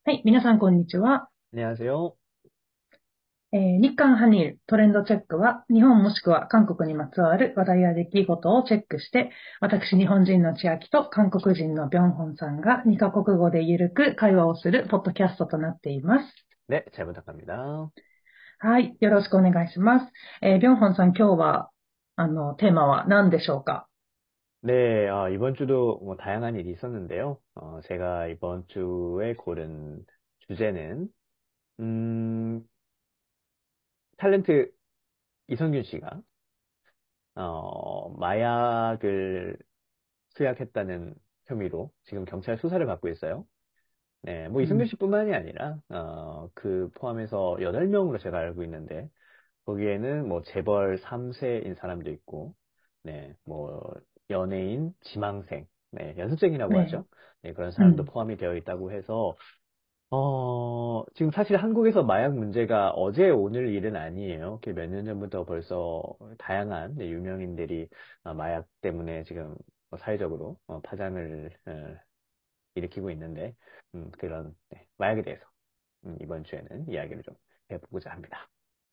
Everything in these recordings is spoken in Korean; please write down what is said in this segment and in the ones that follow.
はい、皆さんこんにちは。 안녕하세요. 日韓ハニールトレンドチェックは、日本もしくは韓国にまつわる話題や出来事をチェックして、私日本人の千秋と韓国人のビョンホンさんが2カ国語でゆるく会話をするポッドキャストとなっています。 네, 잘 부탁합니다. はい、よろしくお願いします。ビョンホンさん今日は、テーマは何でしょうか？ 네, 이번 주도 뭐 다양한 일이 있었는데요. 제가 이번 주에 고른 주제는, 음, 탤런트 이성균 씨가, 마약을 투약했다는 혐의로 지금 경찰 수사를 받고 있어요. 네, 뭐 이성균 씨뿐만이 아니라, 그 포함해서 8명으로 제가 알고 있는데, 거기에는 뭐 재벌 3세인 사람도 있고, 네, 뭐 연예인, 지망생, 네, 연습생이라고 네, 하죠. 네, 그런 사람도 음, 포함이 되어 있다고 해서, 지금 사실 한국에서 마약 문제가 어제 오늘 일은 아니에요. 몇 년 전부터 벌써 다양한 네, 유명인들이 마약 때문에 지금 사회적으로 파장을 일으키고 있는데, 그런 네, 마약에 대해서 이번 주에는 이야기를 좀 해보고자 합니다.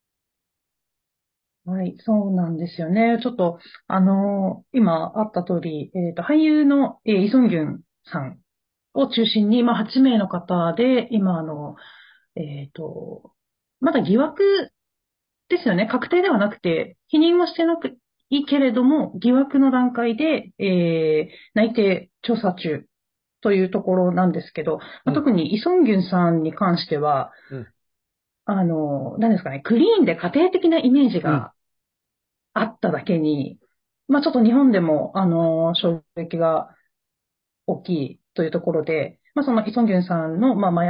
はい、そうなんですよね。ちょっと、今あった通り、俳優の、イ・ソンギュンさんを中心に、まあ、8名の方で、今、えっと、まだ疑惑ですよね。確定ではなくて、否認はしてなくいいけれども、疑惑の段階で、内定調査中というところなんですけど、まあ、 음, 特にイ・ソンギュンさんに関しては、 음, 何ですかね、クリーンで家庭的なイメージ 음, があっただけに、まあちょっと日本でも、衝撃が大きいというところで、まあそのイ・ソンギュンさんの、まあ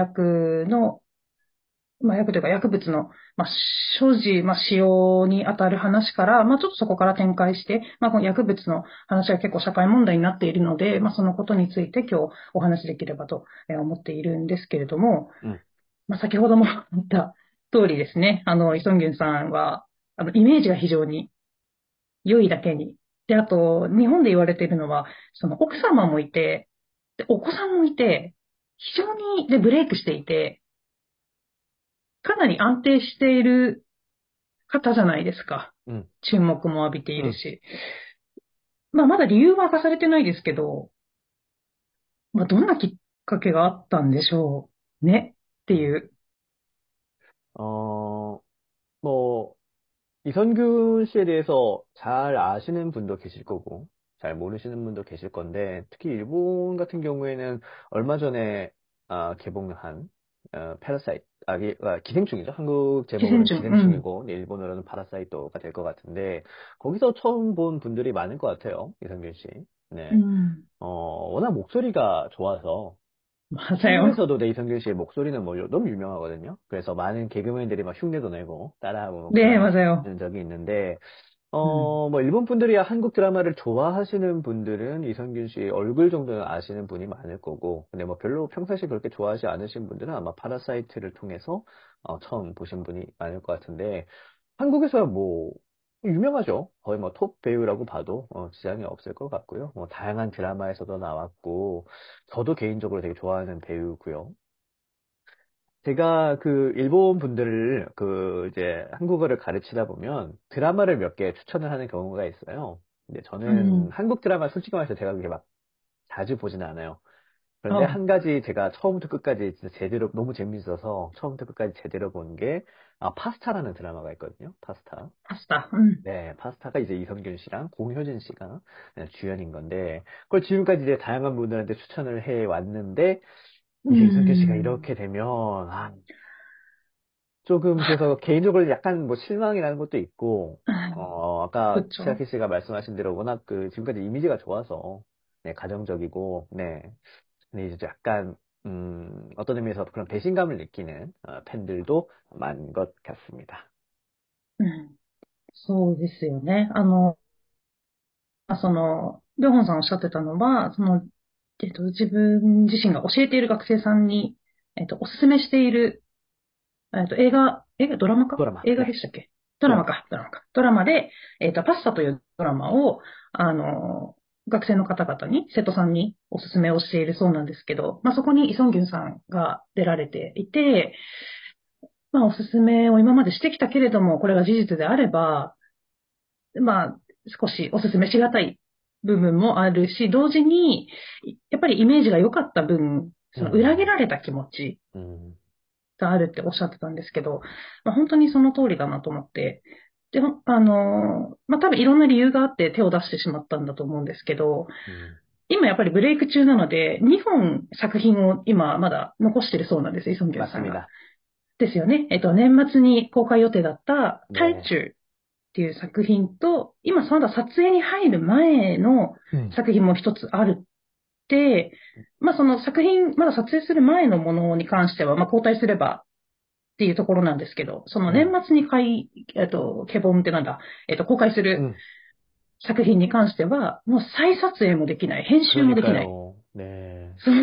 麻薬というか薬物の、まあ、所持、まあ、使用に当たる話から、まあ、ちょっとそこから展開して、まあ、この薬物の話が結構社会問題になっているので、まあ、そのことについて今日お話しできればと思っているんですけれども、 음. まあ、先ほども言った通りですね、イ・ソンギュンさんは、イメージが非常に良いだけに。で、あと、日本で言われているのは、その奥様もいて、で、お子さんもいて、非常に、で、ブレイクしていて、かなり安定している方じゃないですか。 음. 注目も浴びている 음. し。まあ、まだ理由は明かされてないですけど、まあ、どんなきっかけがあったんでしょうねってい 음. う。 어, 뭐, 이선균 씨에 대해서 잘 아시는 분도 계실 거고, 잘 모르시는 분도 계실 건데, 특히 일본 같은 경우에는 얼마 전에 개봉한 패러사이트, 기생충이죠. 한국 寄 제목으로는 生虫、うん。 기생충이고, 네, 일본어로는 파라사이토가 될 것 같은데, 거기서 처음 본 분들이 많을 것 같아요. 이선균 씨. う 네. ん。 워낙 목소리가 좋아서, まさよ。 한국에서도 네, 이성균 씨의 목소리는 뭐 너무 유명하거든요. 그래서 많은 개그맨들이 막 흉내도 내고 따라하고 뭐 で、 그런 まさよ。 적이 있는데, うん。 뭐 일본 분들이 한국 드라마를 좋아하시는 분들은 이성균 씨 얼굴 정도는 아시는 분이 많을 거고, 근데 뭐 별로 평상시에 그렇게 좋아하지 않으신 분들은 아마 파라사이트를 통해서 처음 보신 분이 많을 것 같은데, 한국에서야 뭐 유명하죠. 거의 뭐 톱 배우라고 봐도 지장이 없을 것 같고요. 뭐 다양한 드라마에서도 나왔고, 저도 개인적으로 되게 좋아하는 배우고요. 제가 그 일본 분들을 그 이제 한국어를 가르치다 보면 드라마를 몇 개 추천을 하는 경우가 있어요. 근데 う 저는 ん。 한국 드라마 솔직히 말해서 제가 그렇게 막 자주 보지는 않아요. 그런데 あ、 한 가지 제가 처음부터 끝까지 진짜 제대로 너무 재밌어서 처음부터 끝까지 제대로 본 게 파스타라는 드라마가 있거든요. 파스타. パスタ。うん。 네, 파스타가 이제 이성균 씨랑 공효진 씨가 주연인 건데, 그걸 지금까지 이제 다양한 분들한테 추천을 해 왔는데, う 이제 이성균 씨가 ん。 이렇게 되면, 조금 그래서 개인적으로 약간 뭐 실망이라는 것도 있고, 아까 不調。 치아키 씨가 말씀하신 대로 워낙 그 지금까지 이미지가 좋아서, 네, 가정적이고, 네. 근데 이제 약간, 어떤 의미에서 그런 배신감을 느끼는 팬들도 많은 것 같습니다. うん。そうですよね。りょうほんさんおっしゃってたのは、自分自身が教えている学生さんに、おすすめしている、ドラマか 드라마, 映画で 네, したっけ？ドラマ 드라마. か、ドラマか。ドラマで、パスタというドラマを、 学生の方々に、生徒さんにおすすめをしているそうなんですけど、そこにイ・ソンギュンさんが出られていて、おすすめを今までしてきたけれども、これが事実であれば、まあ、少しおすすめしがたい部分もあるし、同時に、やっぱりイメージが良かった分、その裏切られた気持ちうん。 があるっておっしゃってたんですけど、本当にその通りだなと思って、でも、多分いろんな理由があって手を出してしまったんだと思うんですけど、 うん。 今やっぱりブレイク中なので、2本作品を今まだ残してるそうなんです、イ・ソンギュンさんが。 맞습니다. ですよね。年末に公開予定だったタイ 네. チューっていう作品と、今まだ撮影に入る前の 음. 作品も一つあるって、その作品、まだ撮影する前のものに関しては、交代すればっていうところなんですけど、その年 음. 末にケボンってなんだ、公開する 음. 作品に関しては、もう再撮影もできない、編集もできない。 그러니까요. 네. そう。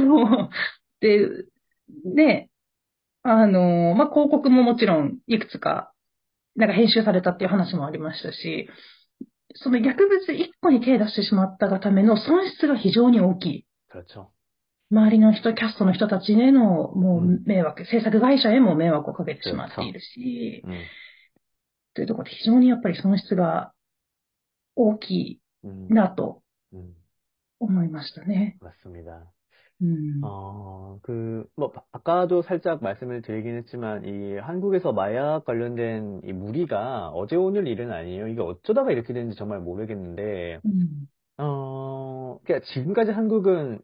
で、ね、広告ももちろんいくつか、なんか編集されたっていう話もありましたし、その薬物一個に手出してしまったがための損失が非常に大きい。 그렇죠. 周りの人、キャストの人たちへのも 음. う迷惑、制作会社へも迷惑をかけてしまってい 그렇죠. るし、 음. というところで非常にやっぱり損失が大きい 음. なと 음. 思いましたね。 맞습니다. うん。 아까도 살짝 말씀을 드리긴 했지만, 이 한국에서 마약 관련된 이 무리가 어제 오늘 일은 아니에요. 이게 어쩌다가 이렇게 됐는지 정말 모르겠는데, うん。 그러니까 지금까지 한국은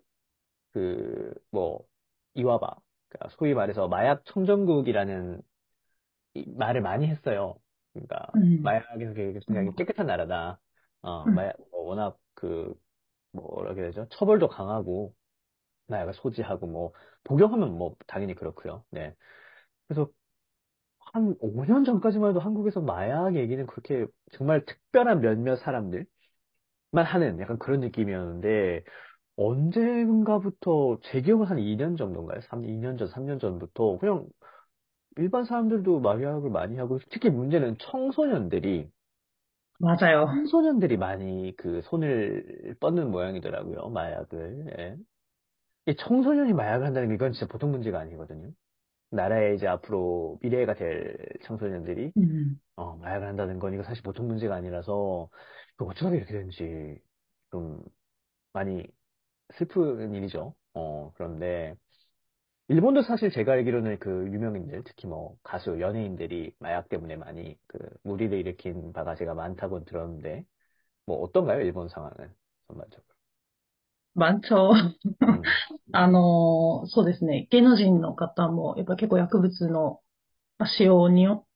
이와바, 그러니까 소위 말해서 마약 청정국이라는 이 말을 많이 했어요. 그러니까, うん。 마약에서 굉장히 깨끗한 나라다. うん。 마약, 워낙 뭐라고 해야 되죠? 처벌도 강하고, 마약을 소지하고, 복용하면 당연히 그렇고요. 네. 그래서 한 5년 전까지만 해도 한국에서 마약 얘기는 그렇게 정말 특별한 몇몇 사람들만 하는 약간 그런 느낌이었는데, 언젠가부터, 제 기억은 한 2년 정도인가요? 2년 전, 3년 전부터, 그냥 일반 사람들도 마약을 많이 하고, 특히 문제는 맞아요. 청소년들이 많이 손을 뻗는 모양이더라고요, 마약을. 예. 이 청소년이 마약을 한다는 게 이건 진짜 보통 문제가 아니거든요. 나라의 이제 앞으로 미래가 될 청소년들이, うん。 마약을 한다는 건 이거 사실 보통 문제가 아니라서, 이거 어쩌다가 이렇게 되는지 좀 많이 슬픈 일이죠. 그런데, 일본도 사실 제가 알기로는 유명인들, 특히 가수, 연예인들이 마약 때문에 많이 무리를 일으킨 바가 제가 많다고 들었는데, 어떤가요, 일본 상황은? 전반적으로. 많죠. 음. そうですね。芸能人の方も、やっぱ結構薬物の使用によって、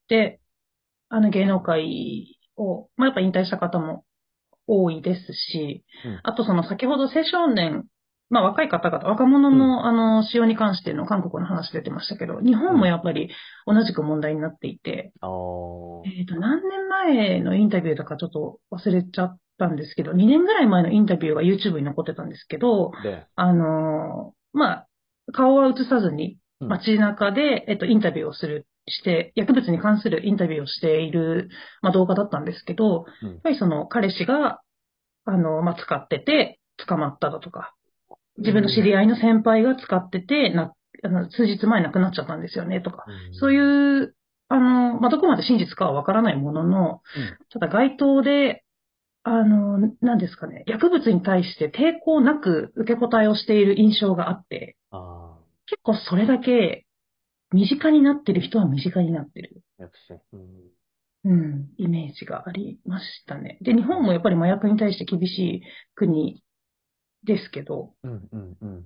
芸能界を、やっぱ引退した方も多いですし、 음. あとその先ほど青少年、若い方々、若者 음. の使用に関しての韓国の話出てましたけど、日本も 음. やっぱり同じく問題になっていて、 어. 何年前のインタビューだかちょっと忘れちゃったんですけど、2年ぐらい前のインタビューが YouTube に残ってたんですけど、 네. 顔は映さずに 음. 街中で、インタビューをして、薬物に関するインタビューをしている、動画だったんですけど、やっ 음. ぱりその彼氏が、使ってて捕まっただとか、自分の知 음. り合いの先輩が使ってて、数日前亡くなっちゃったんですよね、とか、そう 음. いう、どこまで真実かはわからないものの、 음. ただ街頭で、何ですかね、薬物に対して抵抗なく受け答えをしている印象があって、 아, 結構それだけ身近になってる人は身近になってる、 역시. イメージがありましたね。で、日本もやっぱり麻薬に対して厳しい国ですけど、 음. 음. 음.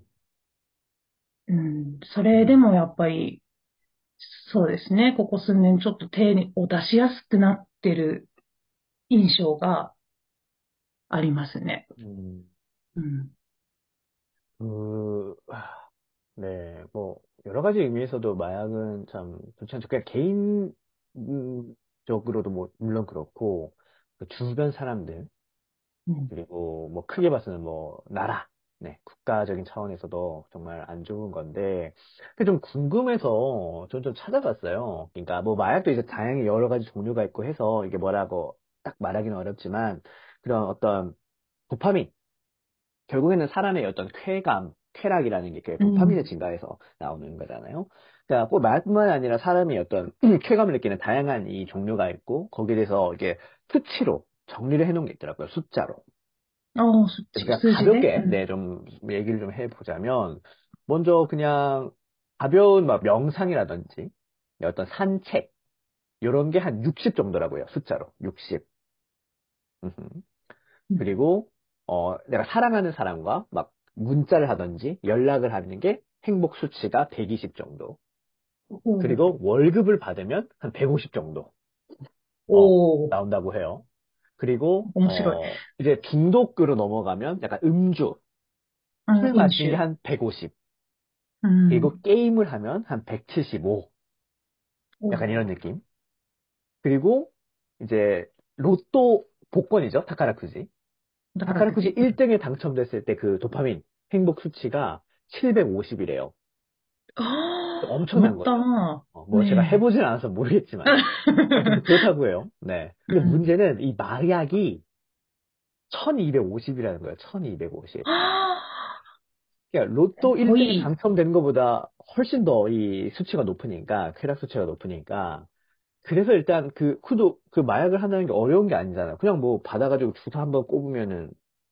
それでもやっぱり、そうですね、ここ数年ちょっと手を出しやすくなってる印象がありますね。 음. うん。 네, 여러 가지 의미에서도 마약은 참 좋지 않죠. 그냥 개인적으로도 물론 그렇고, 주변 사람들, うん。 그리고 크게 봐서는 나라, 네, 국가적인 차원에서도 정말 안 좋은 건데, 근데 좀 궁금해서 좀 찾아봤어요. 그러니까 마약도 이제 다양히 여러 가지 종류가 있고 해서 이게 뭐라고 딱 말하기는 어렵지만, 그런 어떤 도파민, 결국에는 사람의 어떤 쾌락이라는 게 그 도파민의 증가에서 나오는 거잖아요. 그러니까 꼭 말뿐만 아니라 사람이 어떤 쾌감을 느끼는 다양한 이 종류가 있고 거기에 대해서 이게 수치로 정리를 해놓은 게 있더라고요. 숫자로. 그러니까 수지で、 가볍게 네, 좀 얘기를 좀 해보자면 먼저 그냥 가벼운 막 명상이라든지 어떤 산책 이런 게 한 60 정도라고요. 숫자로 60. 그리고 내가 사랑하는 사람과 막 문자를 하든지 연락을 하는 게 행복 수치가 120 정도. お 그리고 월급을 받으면 한 150 정도 お、 나온다고 해요. 그리고 面白い。 이제 중독으로 넘어가면 약간 음주, 술 飲 마시는 게 酒。 한 150. うん。 그리고 게임을 하면 한 175. お 약간 이런 느낌. 그리고 이제 로또 복권이죠. 타카라쿠지. 宝く 타카라쿠지 じ。 1등에 당첨됐을 때 그 도파민 행복 수치가 750이래요. ああ、止ま 엄청난 った 거예요. な。 뭐 제가 ね 해보진 않아서 모르겠지만 하여튼 뭐 그렇다고 해요. 네. え。う 근데 ん。 문제는 이 마약이 1250이라는 거예요. 1250. ああ、 그러니까 로또 1등에 濃い。 당첨되는 것보다 훨씬 더 이 수치가 높으니까 쾌락 수치가 높으니까 그래서 일단 그 마약을 한다는 게 어려운 게 아니잖아요. 그냥 뭐 받아가지고 주사 한번 꼽으면은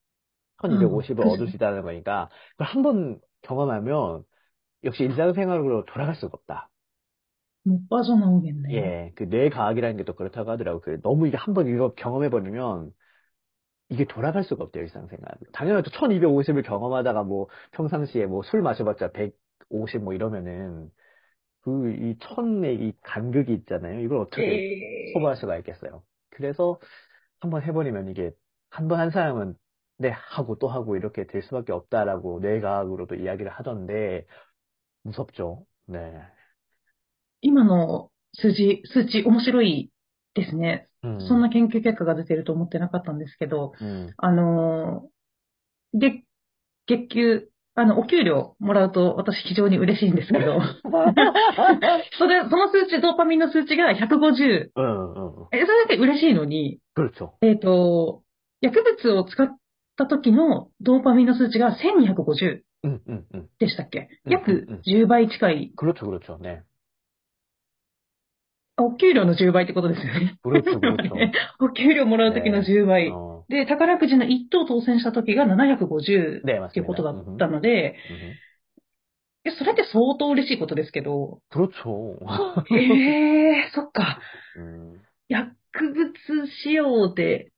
1250을 くじ。 얻을 수 있다는 거니까 그걸 한번 경험하면 역시 일상생활로 돌아갈 수가 없다. もう빠져나오겠네. 예, 그 뇌과학이라는 게 또 그렇다고 하더라고요. 너무 이게 한번 이거 경험해버리면 이게 돌아갈 수가 없대요, 일상생활. 당연하죠. 1250을 경험하다가 뭐 평상시에 뭐 술 마셔봤자 150 뭐 이러면은 이 천의 이 간극이 있잖아요. 이걸 어떻게 에 소화할 수가 있겠어요. 그래서 한번 해버리면 이게 한 번 한 사람은 네, 하고 또 하고 이렇게 될 수밖에 없다라고 뇌과학으로도 이야기를 하던데 무섭죠. 네. 今の数値面白いですね。そん 음, な研究結果が出てると思ってなかったんですけど、 음. あの、月、月給、お給料もらうと私非常に嬉しいんですけど、その数値、ドーパミンの数値が150。 응, 응. それだけ嬉しいのに、 그렇죠. 薬物を使った時のドーパミンの数値が1250 응, 응, 응, でしたっけ？ 응, 응, 約 응. 10倍近い。 그렇죠, 그렇죠. 네. お給料の10倍ってことですよね。 그렇죠, 그렇죠. お給料もらう時の 네. 10倍。で、宝くじの1等当選した時が750 네, っていうこと 맞습니다. だったので、 음흠. それって相当嬉しいことですけど、 그렇죠. そっか。 음, 薬物使用で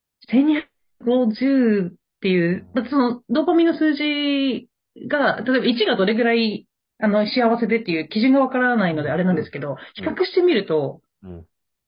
1250っていう、だってそのドーパミンの数字が、例えば1がどれぐらい幸せでっていう基準がわからないのであれなんですけど、比較してみると 음,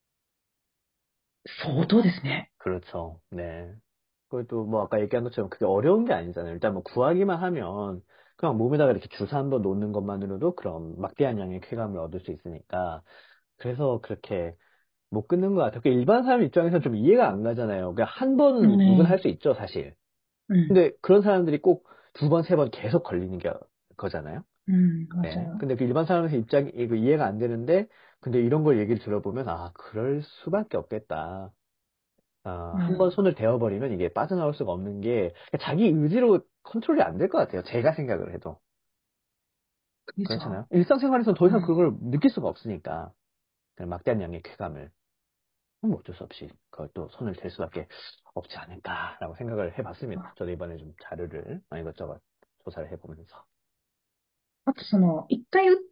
相当ですね。 그렇죠. 네. 그것도 뭐 아까 얘기한 것처럼 그게 어려운 게 아니잖아요. 일단 뭐 구하기만 하면 그냥 몸에다가 이렇게 주사 한번 놓는 것만으로도 그런 막대한 양의 쾌감을 얻을 수 있으니까 그래서 그렇게 못 끊는 것 같아요. 일반 사람 입장에서 좀 이해가 안 가잖아요. 그냥 한 번은 누구나 할 ね 수 있죠, 사실. うん、 근데 그런 사람들이 꼭 두 번, 세 번 계속 걸리는 게 거잖아요. うん、 네. 맞아요. 근데 그 일반 사람의 입장이 이거 이해가 안 되는데, 근데 이런 걸 얘기를 들어보면, 아, 그럴 수밖에 없겠다. 아, 한 번 うん、 손을 대어버리면 이게 빠져나올 수가 없는 게, 자기 의지로 컨트롤이 안 될 것 같아요. 제가 생각을 해도. クイズは、 그렇잖아요. 일상생활에서는 더 う 이상 ん、 그걸 느낄 수가 없으니까. 그냥 막대한 양의 쾌감을. 그럼 어쩔 수 없이 그것도 손을 댈 수밖에 없지 않을까라고 생각을 해봤습니다. 저도 이번에 좀 자료를 이것저것 조사를 해보면서. あと一回打って、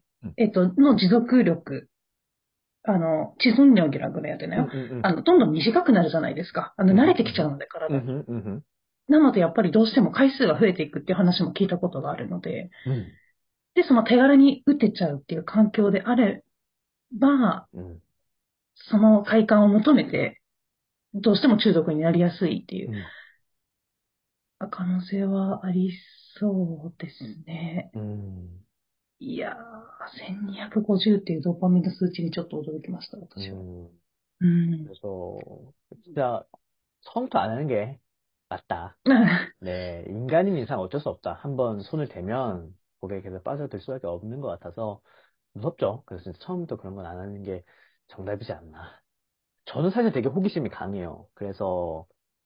음, の持続力、지속력이라 그래야 되나요? 음, 음, どんどん短くなるじゃないですか。慣れ 음, てきちゃ 음, うので、体に。 음, 음, なので、やっぱりどうしても回数が増えていくっていう話も聞いたことがあるので、 음, で、その手軽に打てちゃうっていう環境であれば、 음, その快感を求めて、どうしても中毒になりやすいっていう 음, 可能性はありそうですね。 음, いやー、1250っていうドーパミンの数値にちょっと驚きました、私は。 음. うん。 그래서 진짜 처음부터 안 하는 게 맞다. 네, 인간인 이상 어쩔 수 없다. 한번 손을 대면 거기에 계속 빠져들 수밖에 없는 것 같아서 무섭죠. 그래서 진짜 처음부터 그런 건 안 하는 게 정답이지 않나. 저는 사실 되게 호기심이 강해요. 그래서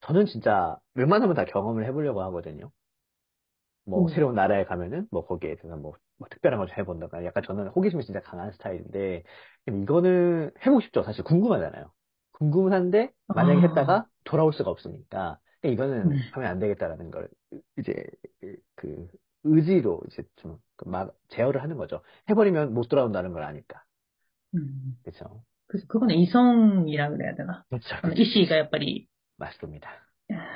저는 진짜 웬만하면 다 경험을 해보려고 하거든요. 뭐 오, 새로운 나라에 가면은 뭐 거기에 대해서 뭐 특별한 걸 좀 해본다거나 약간 저는 호기심이 진짜 강한 스타일인데 그럼 이거는 해보고 싶죠. 사실 궁금하잖아요. 궁금한데 만약에 아, 했다가 돌아올 수가 없으니까 이거는 네. 하면 안 되겠다라는 걸 이제 그 의지로 이제 좀 막 제어를 하는 거죠. 해버리면 못 돌아온다는 걸 아니까. 음. 그렇죠. 그거는 이성이라 그래야 되나? 그렇죠, 意 그렇죠, 志が 그렇죠. やっぱり、 맞습니다.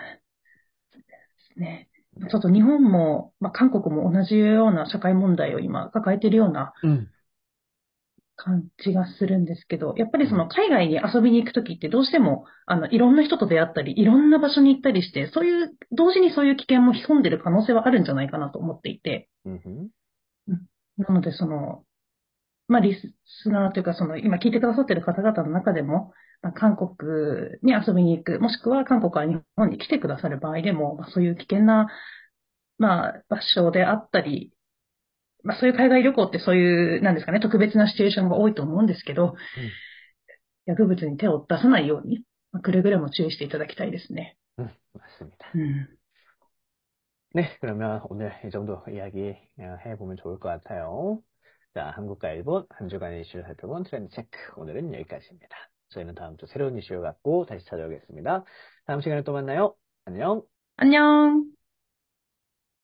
ね。 네. ちょっと日本も、まあ、韓国も同じような社会問題を今抱えているような 음, 感じがするんですけど、やっぱりそ 음, の海外に遊びに行くときってどうしても、いろんな人と出会ったり、いろんな場所に行ったりして、そういう、同時にそういう危険も潜んでる可能性はあるんじゃないかなと思っていて、 음, うんなのでまあ、リスナーというか、今聞いてくださっている方々の中でも、まあ、韓国に遊びに行く、もしくは韓国から日本に来てくださる場合でも、まあ、そういう危険な、まあ、場所であったり、まあ、そういう海外旅行ってそういう、なんですかね、特別なシチュエーションが多いと思うんですけど、 음, 薬物に手を出さないように、まあ、くれぐれも注意していただきたいですね。 맞습니다. うん。 네, 그러면 오늘 이 정도 이야기 해보면 좋을 것 같아요. 자, 한국과 일본 한 주간의 이슈를 살펴본 트렌드 체크. 오늘은 여기까지입니다. 저희는 다음 주 새로운 이슈를 갖고 다시 찾아오겠습니다. 다음 시간에 또 만나요. 안녕. 안녕.